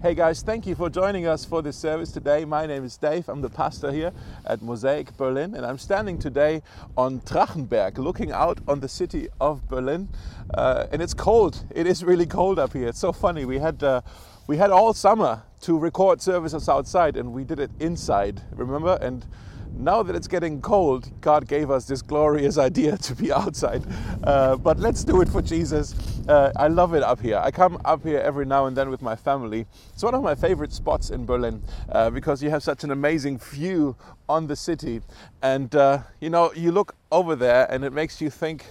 Hey guys, thank you for joining us for this service today. My name is Dave. I'm the pastor here at Mosaic Berlin, and I'm standing today on Drachenberg, looking out on the city of Berlin. And it's cold. It is really cold up here. It's so funny. We had all summer to record services outside, and we did it inside. Remember? And now that it's getting cold, God gave us this glorious idea to be outside. But let's do it for Jesus. I love it up here. I come up here every now and then with my family. It's one of my favorite spots in Berlin because you have such an amazing view on the city. And you look over there and it makes you think,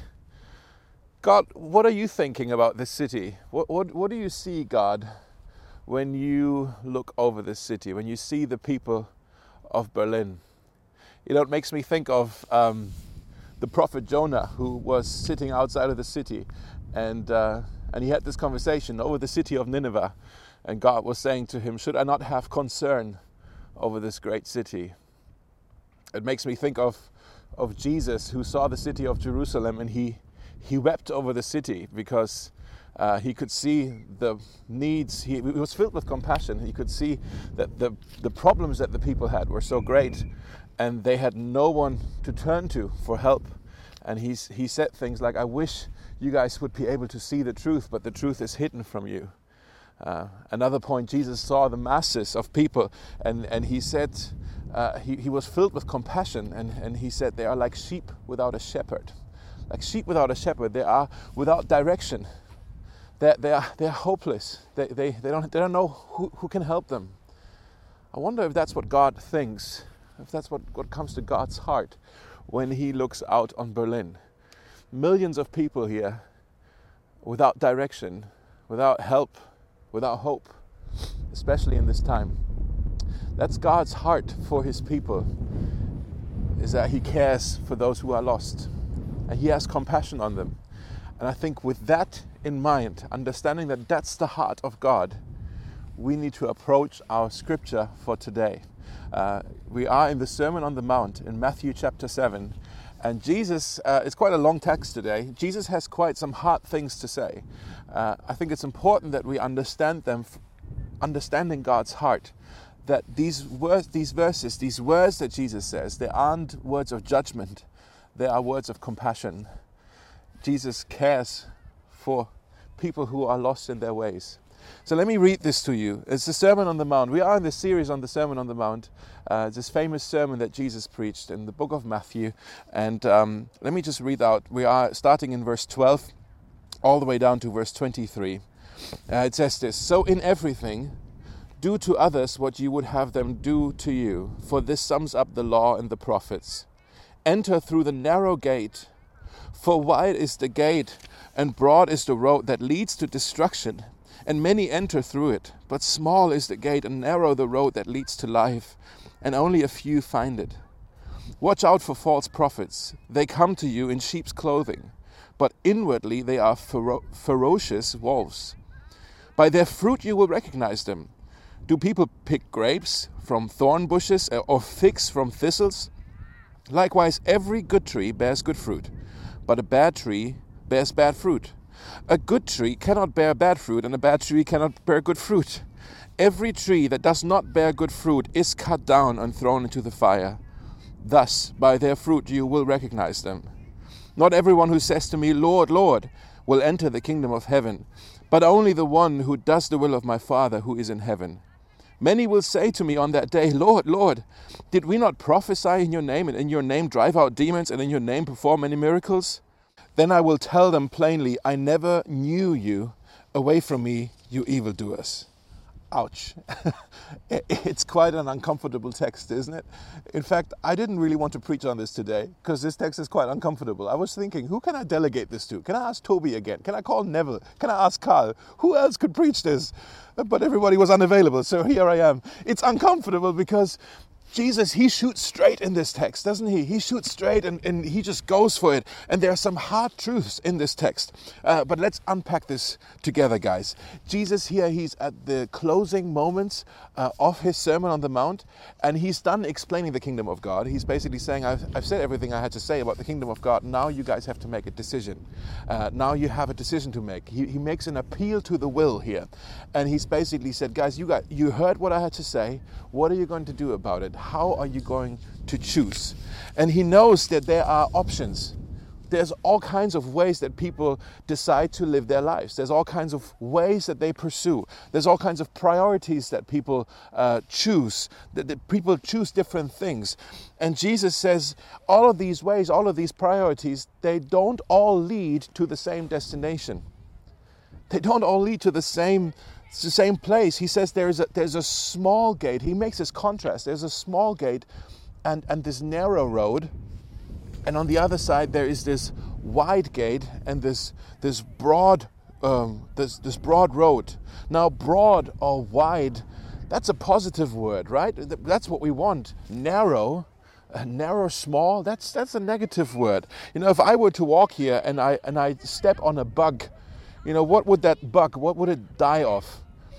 God, what are you thinking about this city? What do you see, God, when you look over this city, when you see the people of Berlin? It makes me think of the prophet Jonah, who was sitting outside of the city, and he had this conversation over the city of Nineveh, and God was saying to him, should I not have concern over this great city? It makes me think of Jesus, who saw the city of Jerusalem, and he wept over the city because he could see the needs. He was filled with compassion. He could see that the problems that the people had were so great, and they had no one to turn to for help. And he said things like, I wish you guys would be able to see the truth, but the truth is hidden from you. Another point, Jesus saw the masses of people, and he said, he was filled with compassion, and he said they are like sheep without a shepherd. Like sheep without a shepherd, they are without direction. They're hopeless. They don't know who can help them. I wonder if that's what God thinks, if that's what comes to God's heart when he looks out on Berlin. Millions of people here without direction, without help, without hope, especially in this time. That's God's heart for his people, is that he cares for those who are lost, and he has compassion on them. And I think with that in mind, understanding that that's the heart of God, we need to approach our scripture for today. We are in the Sermon on the Mount in Matthew chapter 7. And Jesus, it's quite a long text today. Jesus has quite some hard things to say. I think it's important that we understand them, understanding God's heart. That these verses, these words that Jesus says, they aren't words of judgment. They are words of compassion. Jesus cares for people who are lost in their ways. So let me read this to you. It's the Sermon on the Mount. We are in this series on the Sermon on the Mount. This famous sermon that Jesus preached in the book of Matthew. And let me just read out. We are starting in verse 12 all the way down to verse 23. It says this, so in everything, do to others what you would have them do to you, for this sums up the law and the prophets. Enter through the narrow gate, for wide is the gate and broad is the road that leads to destruction, and many enter through it. But small is the gate and narrow the road that leads to life, and only a few find it. Watch out for false prophets. They come to you in sheep's clothing, but inwardly they are ferocious wolves. By their fruit you will recognize them. Do people pick grapes from thorn bushes or figs from thistles? Likewise, every good tree bears good fruit, but a bad tree bears bad fruit. A good tree cannot bear bad fruit, and a bad tree cannot bear good fruit. Every tree that does not bear good fruit is cut down and thrown into the fire. Thus, by their fruit you will recognize them. Not everyone who says to me, Lord, Lord, will enter the kingdom of heaven, but only the one who does the will of my Father who is in heaven. Many will say to me on that day, Lord, Lord, did we not prophesy in your name, and in your name drive out demons, and in your name perform many miracles? Then I will tell them plainly, I never knew you. Away from me, you evildoers. Ouch. It's quite an uncomfortable text, isn't it? In fact, I didn't really want to preach on this today because this text is quite uncomfortable. I was thinking, who can I delegate this to? Can I ask Toby again? Can I call Neville? Can I ask Carl? Who else could preach this? But everybody was unavailable, so here I am. It's uncomfortable because Jesus, he shoots straight in this text, doesn't he? He shoots straight and he just goes for it. And there are some hard truths in this text. But let's unpack this together, guys. Jesus here, he's at the closing moments of his Sermon on the Mount, and he's done explaining the kingdom of God. He's basically saying, I've said everything I had to say about the kingdom of God. Now you guys have to make a decision. Now you have a decision to make. He makes an appeal to the will here. And he's basically said, guys, you heard what I had to say. What are you going to do about it? How are you going to choose? And he knows that there are options. There's all kinds of ways that people decide to live their lives. There's all kinds of ways that they pursue. There's all kinds of priorities that people choose. That people choose different things. And Jesus says all of these ways, all of these priorities, they don't all lead to the same destination. They don't all lead to the same place. He says there's a small gate. He makes this contrast. There's a small gate and this narrow road. And on the other side, there is this wide gate and this broad road. Now, broad or wide, that's a positive word, right? That's what we want. Narrow, small, that's a negative word. You know, if I were to walk here and I step on a bug, you know, what would it die of?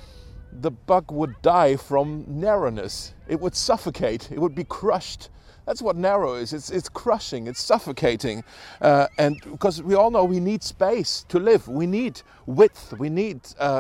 The bug would die from narrowness. It would suffocate. It would be crushed. That's what narrow is. It's crushing. It's suffocating. And because we all know we need space to live. We need width. We need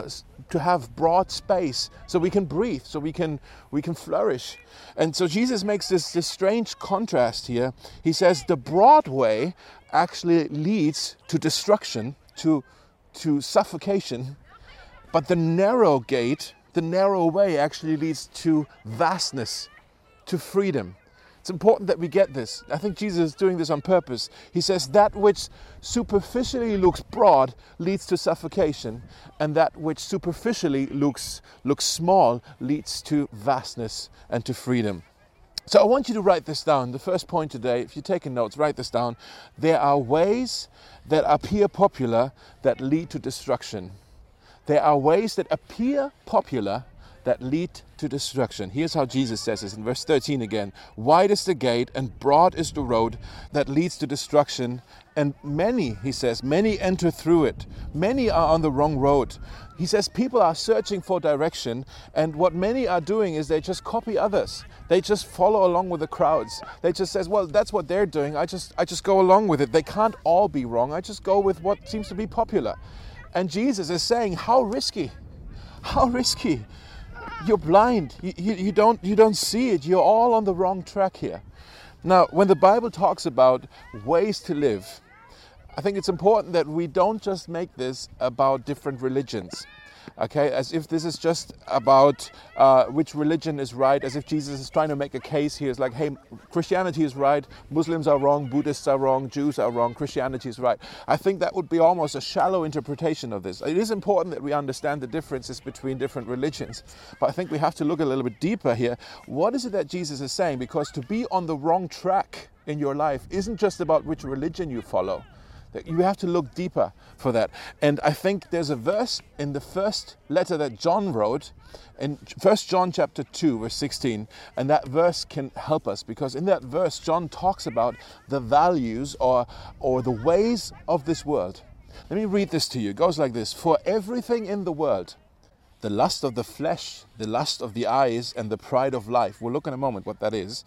to have broad space so we can breathe, so we can flourish. And so Jesus makes this strange contrast here. He says the broad way actually leads to destruction, to suffocation, but the narrow gate, the narrow way actually leads to vastness, to freedom. It's important that we get this. I think Jesus is doing this on purpose. He says that which superficially looks broad leads to suffocation, and that which superficially looks small leads to vastness and to freedom. So I want you to write this down. The first point today, if you're taking notes, write this down. There are ways that appear popular that lead to destruction. There are ways that appear popular that lead to destruction. Here's how Jesus says this in verse 13 again. Wide is the gate and broad is the road that leads to destruction. And many, he says, many enter through it. Many are on the wrong road. He says people are searching for direction, and what many are doing is they just copy others. They just follow along with the crowds. They just says, well, that's what they're doing. I just go along with it. They can't all be wrong. I just go with what seems to be popular. And Jesus is saying, how risky? How risky? You're blind. You don't see it. You're all on the wrong track here. Now, when the Bible talks about ways to live, I think it's important that we don't just make this about different religions. Okay, as if this is just about which religion is right, as if Jesus is trying to make a case here. It's like, hey, Christianity is right, Muslims are wrong, Buddhists are wrong, Jews are wrong, Christianity is right. I think that would be almost a shallow interpretation of this. It is important that we understand the differences between different religions, but I think we have to look a little bit deeper here. What is it that Jesus is saying? Because to be on the wrong track in your life isn't just about which religion you follow. You have to look deeper for that. And I think there's a verse in the first letter that John wrote, in 1 John chapter 2, verse 16, and that verse can help us, because in that verse, John talks about the values or the ways of this world. Let me read this to you. It goes like this. For everything in the world, the lust of the flesh, the lust of the eyes, and the pride of life. We'll look in a moment what that is.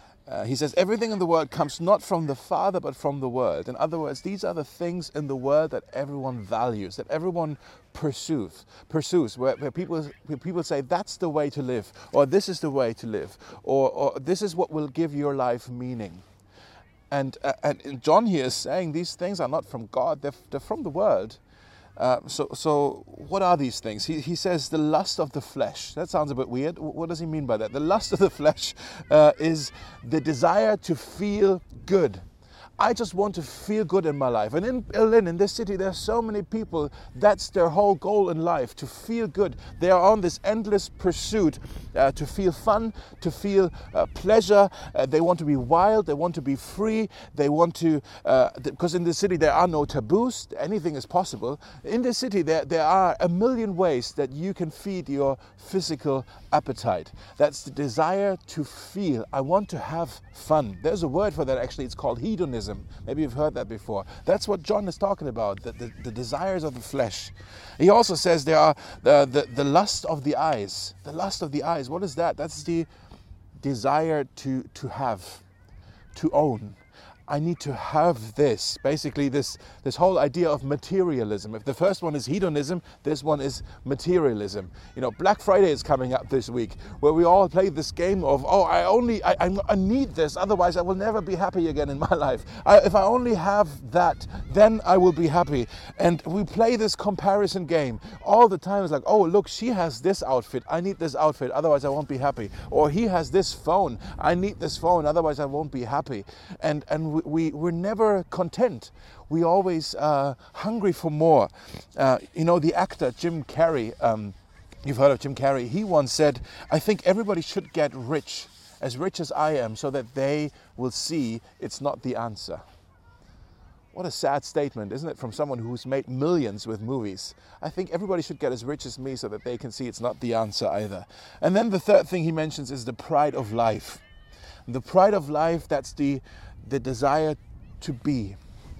He says, everything in the world comes not from the Father, but from the world. In other words, these are the things in the world that everyone values, that everyone pursues, where people say, that's the way to live, or this is the way to live, or this is what will give your life meaning. And John here is saying these things are not from God, they're from the world. So what are these things? He says the lust of the flesh. That sounds a bit weird. What does he mean by that? The lust of the flesh is the desire to feel good. I just want to feel good in my life. And in Berlin, in this city, there are so many people, that's their whole goal in life, to feel good. They are on this endless pursuit to feel fun, to feel pleasure. They want to be wild, they want to be free, they want to, because in the city there are no taboos, anything is possible. In the city there are a million ways that you can feed your physical appetite. That's the desire to feel. I want to have fun. There's a word for that actually, it's called hedonism. Maybe you've heard that before. That's what John is talking about, the desires of the flesh. He also says there are the lust of the eyes. The lust of the eyes, what is that? That's the desire to have, to own. I need to have this. Basically this whole idea of materialism. If the first one is hedonism, this one is materialism. You know, Black Friday is coming up this week, where we all play this game of, I need this, otherwise I will never be happy again in my life. If I only have that, then I will be happy. And we play this comparison game all the time. It's like, oh, look, she has this outfit, I need this outfit, otherwise I won't be happy. Or he has this phone, I need this phone, otherwise I won't be happy. And we're never content. We always hungry for more. The actor Jim Carrey, you've heard of Jim Carrey, he once said, I think everybody should get rich as I am, so that they will see it's not the answer. What a sad statement, isn't it, from someone who's made millions with movies. I think everybody should get as rich as me so that they can see it's not the answer either. And then the third thing he mentions is the pride of life. The pride of life, that's the desire to be.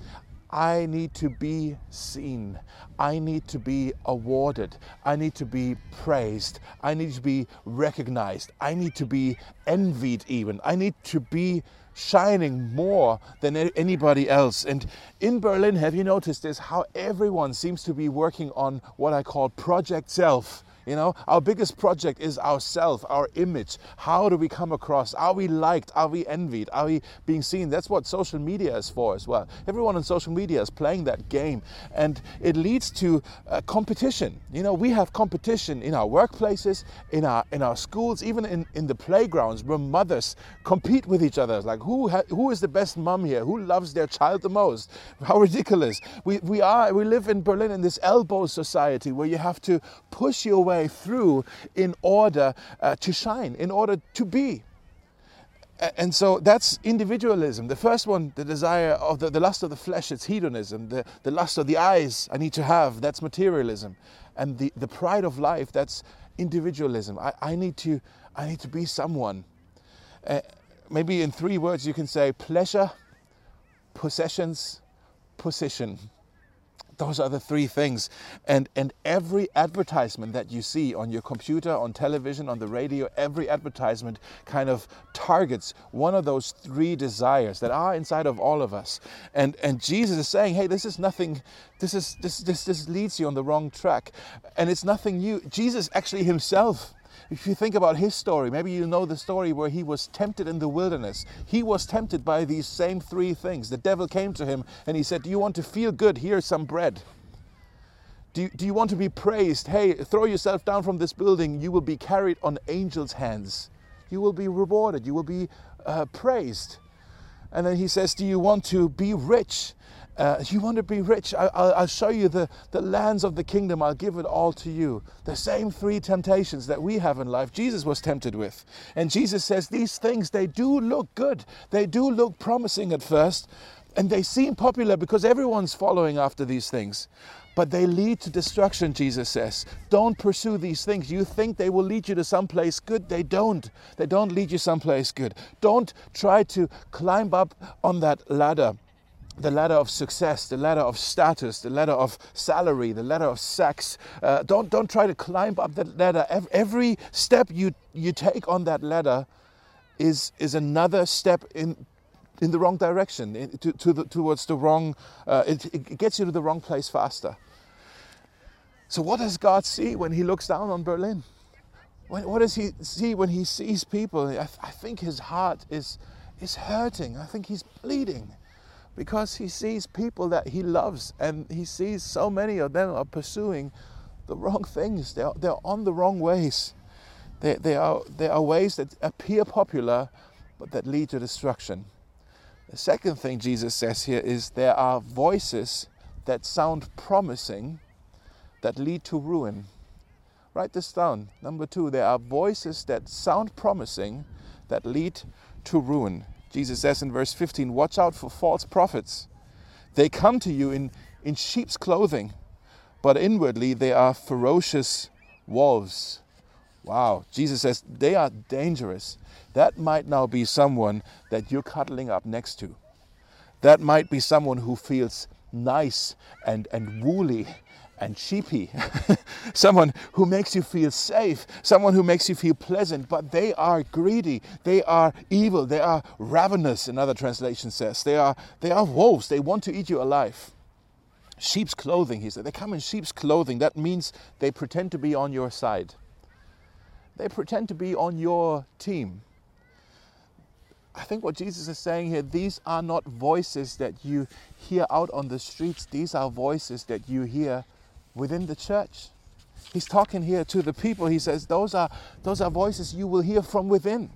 I need to be seen. I need to be awarded. I need to be praised. I need to be recognized. I need to be envied even. I need to be shining more than anybody else. And in Berlin, have you noticed this? How everyone seems to be working on what I call Project Self. You know, our biggest project is ourself, our image. How do we come across? Are we liked? Are we envied? Are we being seen? That's what social media is for as well. Everyone on social media is playing that game, and it leads to competition. You know, we have competition in our workplaces, in our schools, even in the playgrounds, where mothers compete with each other. Like, who is the best mom here? Who loves their child the most? How ridiculous. We live in Berlin in this elbow society where you have to push your way through in order to shine, in order to be. And so that's individualism. The first one, the desire of the lust of the flesh, it's hedonism. The lust of the eyes, I need to have, that's materialism. And the pride of life, that's individualism. I need to be someone. Maybe in 3 words you can say pleasure, possessions, position. Those are the 3 things. And every advertisement that you see on your computer, on television, on the radio, every advertisement kind of targets one of those 3 desires that are inside of all of us. And Jesus is saying, hey, this is nothing, this leads you on the wrong track. And it's nothing new. Jesus actually himself, if you think about his story, maybe you know the story where he was tempted in the wilderness. He was tempted by these same 3 things. The devil came to him and he said, do you want to feel good? Here's some bread. Do you want to be praised? Hey, throw yourself down from this building. You will be carried on angels' hands. You will be rewarded. You will be praised. And then he says, do you want to be rich? You want to be rich? I'll show you the lands of the kingdom. I'll give it all to you. The same 3 temptations that we have in life, Jesus was tempted with. And Jesus says these things, they do look good. They do look promising at first. And they seem popular because everyone's following after these things. But they lead to destruction, Jesus says. Don't pursue these things. You think they will lead you to someplace good. They don't. They don't lead you someplace good. Don't try to climb up on that ladder. The ladder of success, the ladder of status, the ladder of salary, the ladder of sex. Don't try to climb up that ladder. Every step you take on that ladder is another step in the wrong direction, towards the wrong. It gets you to the wrong place faster. So what does God see when He looks down on Berlin? What does He see when He sees people? I think His heart is hurting. I think He's bleeding. Because He sees people that He loves, and He sees so many of them are pursuing the wrong things. They're on the wrong ways. They are ways that appear popular, but that lead to destruction. The second thing Jesus says here is there are voices that sound promising that lead to ruin. Write this down. Number 2, there are voices that sound promising that lead to ruin. Jesus says in verse 15, watch out for false prophets. They come to you in sheep's clothing, but inwardly they are ferocious wolves. Wow, Jesus says they are dangerous. That might now be someone that you're cuddling up next to. That might be someone who feels nice and woolly and sheepy. Someone who makes you feel safe. Someone who makes you feel pleasant. But they are greedy. They are evil. They are ravenous, another translation says. They are wolves. They want to eat you alive. Sheep's clothing, he said. They come in sheep's clothing. That means they pretend to be on your side. They pretend to be on your team. I think what Jesus is saying here, these are not voices that you hear out on the streets. These are voices that you hear within the church. He's talking here to the people. He says those are voices you will hear from within.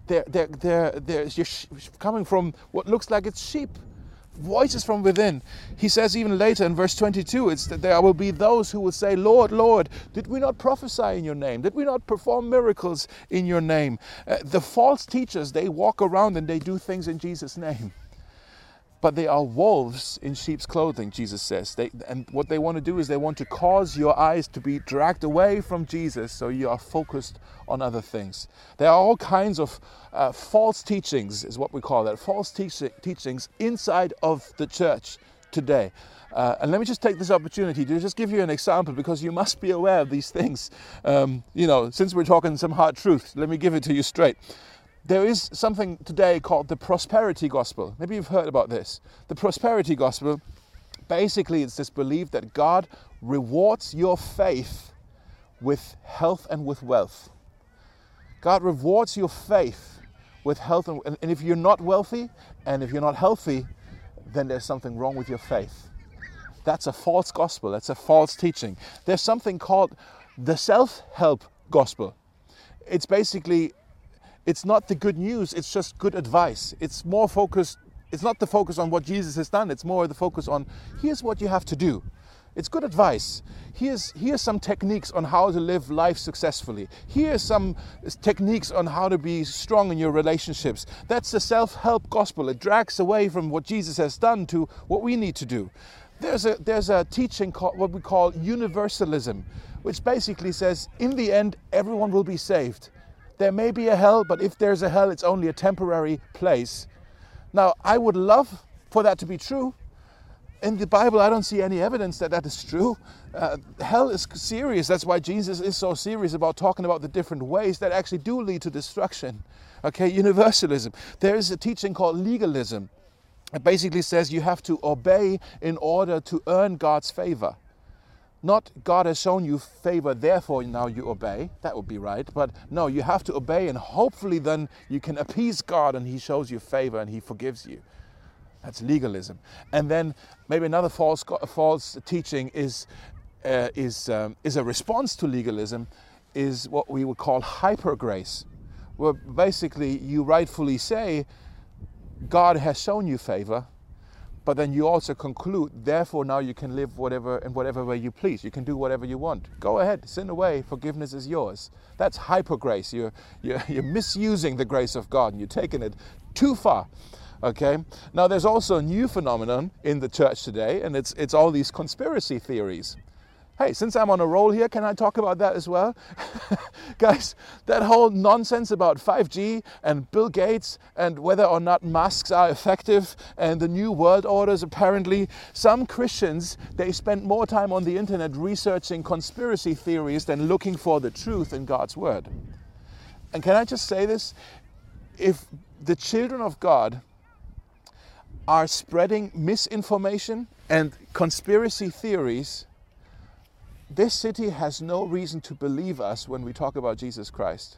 They're coming from what looks like it's sheep. Voices from within. He says even later in verse 22, it's that there will be those who will say, Lord, Lord, did we not prophesy in your name? Did we not perform miracles in your name? The false teachers, they walk around and they do things in Jesus' name. But they are wolves in sheep's clothing, Jesus says. And what they want to do is they want to cause your eyes to be dragged away from Jesus so you are focused on other things. There are all kinds of false teachings, is what we call that, false teachings inside of the church today. And let me just take this opportunity to just give you an example, because you must be aware of these things. Since we're talking some hard truths, let me give it to you straight. There is something today called the prosperity gospel. Maybe you've heard about this. The prosperity gospel, basically it's this belief that God rewards your faith with health and with wealth. God rewards your faith with health and if you're not wealthy and if you're not healthy, then there's something wrong with your faith. That's a false gospel. That's a false teaching. There's something called the self-help gospel. It's basically, it's not the good news, it's just good advice. It's more focused, it's not the focus on what Jesus has done, it's more the focus on, here's what you have to do. It's good advice. Here's some techniques on how to live life successfully. Here's some techniques on how to be strong in your relationships. That's the self-help gospel. It drags away from what Jesus has done to what we need to do. There's a teaching called what we call universalism, which basically says, in the end, everyone will be saved. There may be a hell, but if there's a hell, it's only a temporary place. Now, I would love for that to be true. In the Bible, I don't see any evidence that that is true. Hell is serious. That's why Jesus is so serious about talking about the different ways that actually do lead to destruction. Okay, universalism. There is a teaching called legalism. It basically says you have to obey in order to earn God's favor. Not God has shown you favor, therefore now you obey. That would be right. But no, you have to obey, and hopefully then you can appease God and He shows you favor and He forgives you. That's legalism. And then maybe another false teaching is a response to legalism, is what we would call hyper grace, where basically you rightfully say God has shown you favor, but then you also conclude, therefore now you can live in whatever way you please. You can do whatever you want. Go ahead, sin away, forgiveness is yours. That's hyper grace. You're misusing the grace of God and you're taking it too far. Okay. Now there's also a new phenomenon in the church today, and it's all these conspiracy theories. Hey, since I'm on a roll here, can I talk about that as well? Guys, that whole nonsense about 5G and Bill Gates and whether or not masks are effective and the new world orders, apparently, some Christians, they spend more time on the internet researching conspiracy theories than looking for the truth in God's word. And can I just say this? If the children of God are spreading misinformation and conspiracy theories, this city has no reason to believe us when we talk about Jesus Christ.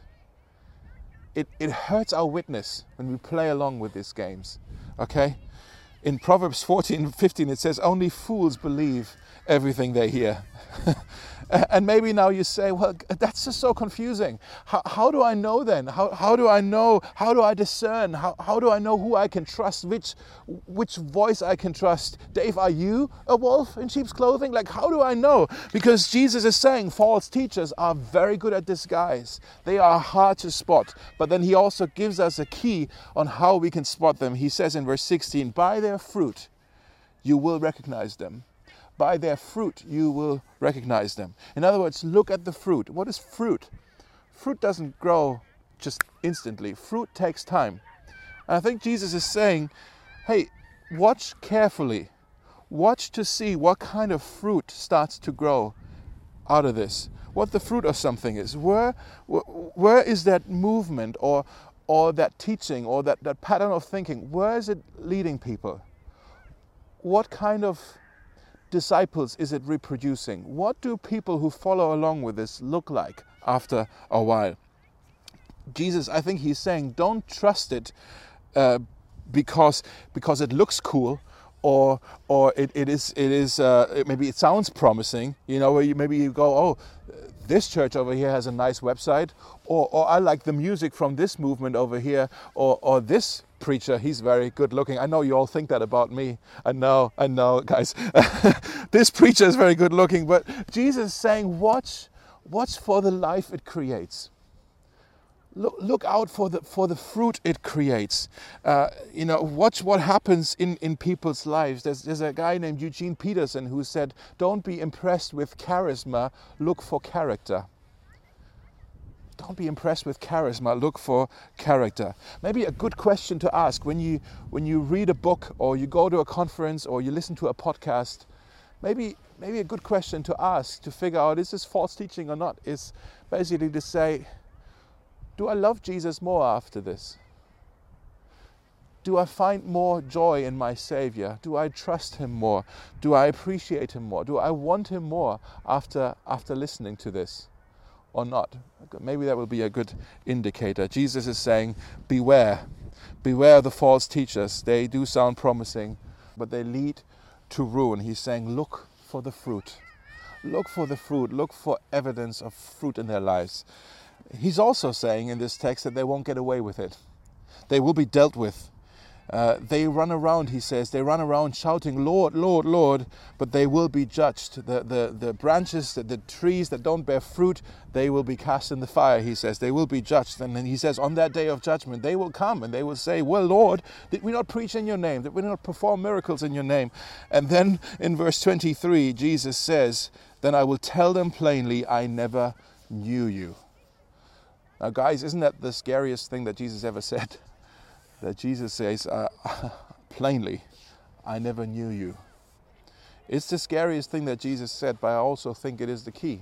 It hurts our witness when we play along with these games. Okay? In Proverbs 14:15 it says, only fools believe everything they hear. And maybe now you say, well, that's just so confusing. How do I know then? How do I know? How do I discern? How do I know who I can trust? Which voice I can trust? Dave, are you a wolf in sheep's clothing? Like, how do I know? Because Jesus is saying false teachers are very good at disguise. They are hard to spot. But then he also gives us a key on how we can spot them. He says in verse 16, by their fruit you will recognize them. By their fruit you will recognize them. In other words, look at the fruit. What is fruit? Fruit doesn't grow just instantly. Fruit takes time. And I think Jesus is saying, hey, watch carefully. Watch to see what kind of fruit starts to grow out of this. What the fruit of something is. Where is that movement or that teaching or that pattern of thinking? Where is it leading people? What kind of disciples is it reproducing? What do people who follow along with this look like after a while? Jesus, I think he's saying, don't trust it because it looks cool, or it is maybe it sounds promising. You know, where maybe you go, oh, this church over here has a nice website, or I like the music from this movement over here, or this preacher, he's very good looking. I know you all think that about me. I know, guys. This preacher is very good looking, but Jesus is saying, watch for the life it creates. Look out for the fruit it creates. Watch what happens in people's lives. There's a guy named Eugene Peterson who said, don't be impressed with charisma, look for character. Don't be impressed with charisma, look for character. Maybe a good question to ask when you read a book, or you go to a conference, or you listen to a podcast, maybe a good question to ask to figure out, is this false teaching or not, is basically to say, do I love Jesus more after this? Do I find more joy in my Savior? Do I trust him more? Do I appreciate him more? Do I want him more after listening to this? Or not? Maybe that will be a good indicator. Jesus is saying, beware of the false teachers. They do sound promising, but they lead to ruin. He's saying, look for the fruit. Look for the fruit. Look for evidence of fruit in their lives. He's also saying in this text that they won't get away with it. They will be dealt with. They run around, he says, shouting, Lord, Lord, Lord, but they will be judged. The branches, the trees that don't bear fruit, they will be cast in the fire, he says. They will be judged. And then he says, on that day of judgment, they will come and they will say, well, Lord, did we not preach in your name? Did we not perform miracles in your name? And then in verse 23, Jesus says, then I will tell them plainly, I never knew you. Now, guys, isn't that the scariest thing that Jesus ever said? That Jesus says, plainly, I never knew you. It's the scariest thing that Jesus said, but I also think it is the key.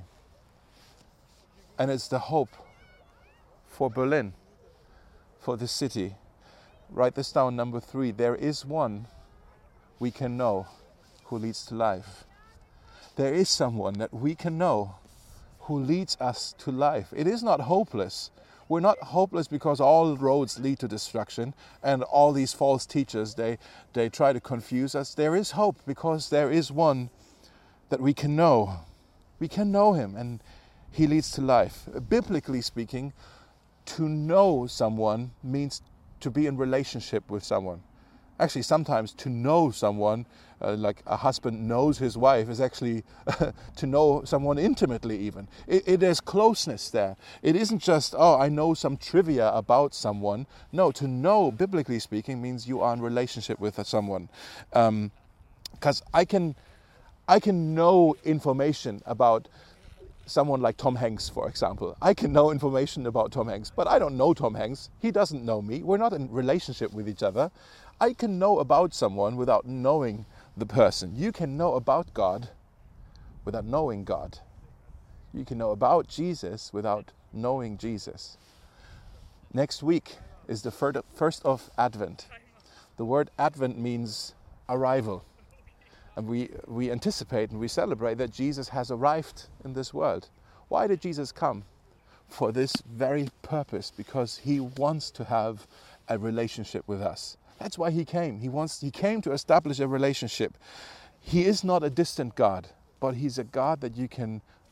And it's the hope for Berlin, for the city. Write this down, number 3. There is one we can know who leads to life. There is someone that we can know who leads us to life. It is not hopeless. We're not hopeless because all roads lead to destruction and all these false teachers, they try to confuse us. There is hope because there is one that we can know. We can know him and he leads to life. Biblically speaking, to know someone means to be in relationship with someone. Actually, sometimes to know someone, like a husband knows his wife, is actually to know someone intimately even. It is closeness there. It isn't just, oh, I know some trivia about someone. No, to know, biblically speaking, means you are in relationship with someone. Because I can know information about someone like Tom Hanks, for example. I can know information about Tom Hanks, but I don't know Tom Hanks. He doesn't know me. We're not in relationship with each other. I can know about someone without knowing the person. You can know about God without knowing God. You can know about Jesus without knowing Jesus. Next week is the first of Advent. The word Advent means arrival. And we anticipate and we celebrate that Jesus has arrived in this world. Why did Jesus come? For this very purpose, because he wants to have a relationship with us. That's why he came. He came to establish a relationship. He is not a distant God, but he's a God that you can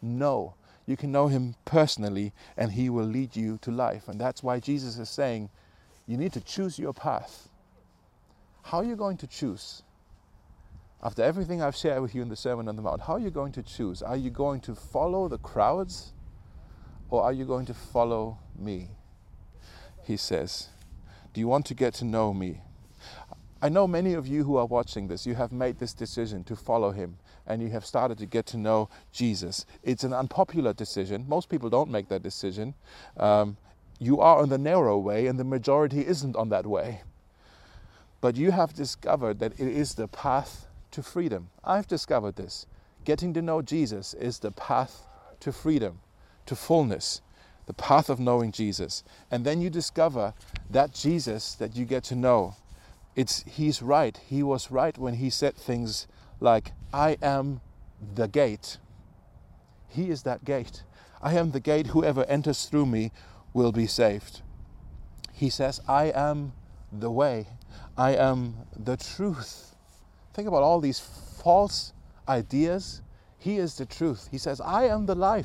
know. You can know him personally, and he will lead you to life. And that's why Jesus is saying, you need to choose your path. How are you going to choose? After everything I've shared with you in the Sermon on the Mount, how are you going to choose? Are you going to follow the crowds, or are you going to follow me? He says, do you want to get to know me? I know many of you who are watching this, you have made this decision to follow him, and you have started to get to know Jesus. It's an unpopular decision. Most people don't make that decision. You are on the narrow way, and the majority isn't on that way. But you have discovered that it is the path to freedom. I've discovered this. Getting to know Jesus is the path to freedom, to fullness, the path of knowing Jesus. And then you discover that Jesus that you get to know, he's right. He was right when he said things like, I am the gate. He is that gate. I am the gate. Whoever enters through me will be saved. He says, I am the way. I am the truth. Think about all these false ideas. He is the truth. He says, I am the life.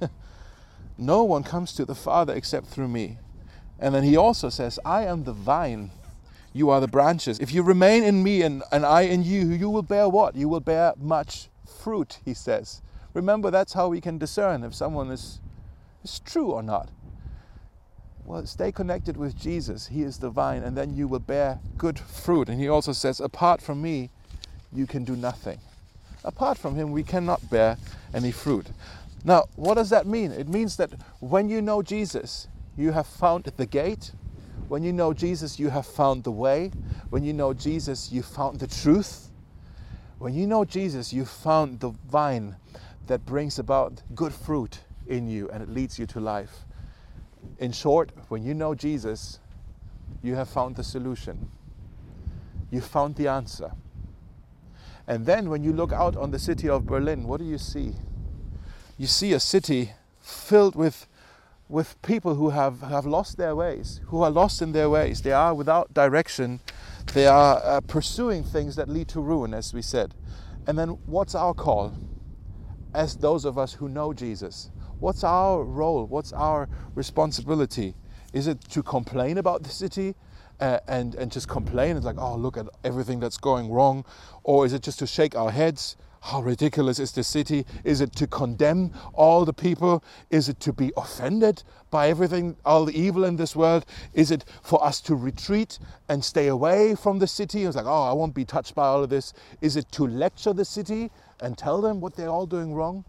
No one comes to the Father except through me. And then he also says, I am the vine. You are the branches. If you remain in me and I in you, you will bear what? You will bear much fruit, he says. Remember, that's how we can discern if someone is true or not. Well, stay connected with Jesus. He is the vine, and then you will bear good fruit. And he also says, apart from me, you can do nothing. Apart from him, we cannot bear any fruit. Now, what does that mean? It means that when you know Jesus, you have found the gate. When you know Jesus, you have found the way. When you know Jesus, you found the truth. When you know Jesus, you found the vine that brings about good fruit in you, and it leads you to life. In short, when you know Jesus, you have found the solution. You found the answer. And then when you look out on the city of Berlin, what do you see? You see a city filled with people who have lost their ways, who are lost in their ways. They are without direction. They are pursuing things that lead to ruin, as we said. And then what's our call as those of us who know Jesus? What's our role? What's our responsibility? Is it to complain about the city and just complain? It's like, oh, look at everything that's going wrong. Or is it just to shake our heads? How ridiculous is the city? Is it to condemn all the people? Is it to be offended by everything, all the evil in this world? Is it for us to retreat and stay away from the city? It's like, oh, I won't be touched by all of this. Is it to lecture the city and tell them what they're all doing wrong?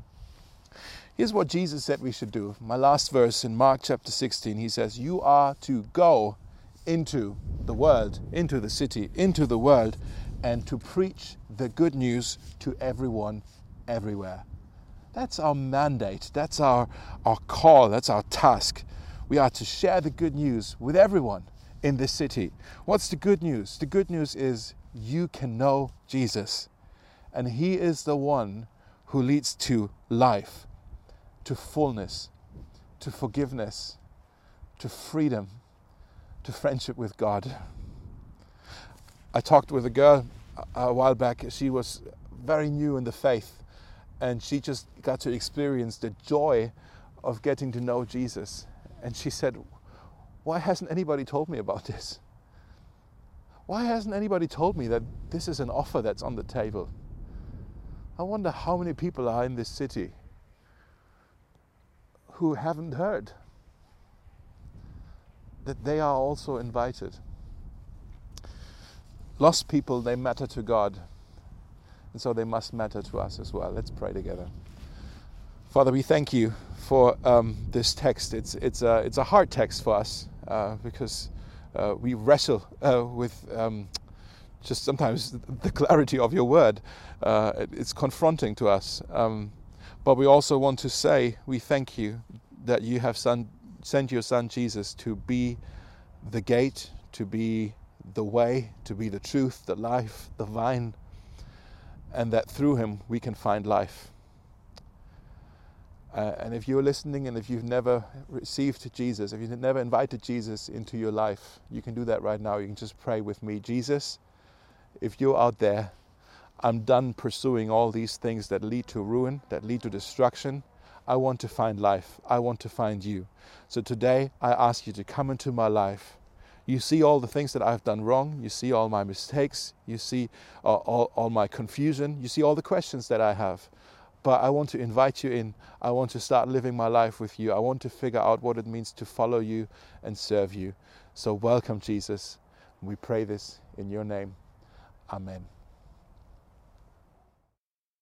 Here's what Jesus said we should do. My last verse in Mark chapter 16, he says, you are to go into the world, into the city, into the world, and to preach the good news to everyone, everywhere. That's our mandate. That's our call. That's our task. We are to share the good news with everyone in this city. What's the good news? The good news is you can know Jesus. And he is the one who leads to life, to fullness, to forgiveness, to freedom, to friendship with God. I talked with a girl a while back. She was very new in the faith, and she just got to experience the joy of getting to know Jesus. And she said, why hasn't anybody told me about this? Why hasn't anybody told me that this is an offer that's on the table? I wonder how many people are in this city who haven't heard that they are also invited. Lost people, they matter to God, and so they must matter to us as well. Let's pray together. Father, we thank you for this text. It's a hard text for us because we wrestle with just sometimes the clarity of your word. It's confronting to us. But we also want to say we thank you that you have sent your son Jesus to be the gate, to be the way, to be the truth, the life, the vine, and that through him we can find life. And if you're listening and if you've never received Jesus, if you've never invited Jesus into your life, you can do that right now. You can just pray with me. Jesus, if you're out there, I'm done pursuing all these things that lead to ruin, that lead to destruction. I want to find life. I want to find you. So today I ask you to come into my life. You see all the things that I've done wrong. You see all my mistakes. You see all my confusion. You see all the questions that I have. But I want to invite you in. I want to start living my life with you. I want to figure out what it means to follow you and serve you. So welcome, Jesus. We pray this in your name. Amen.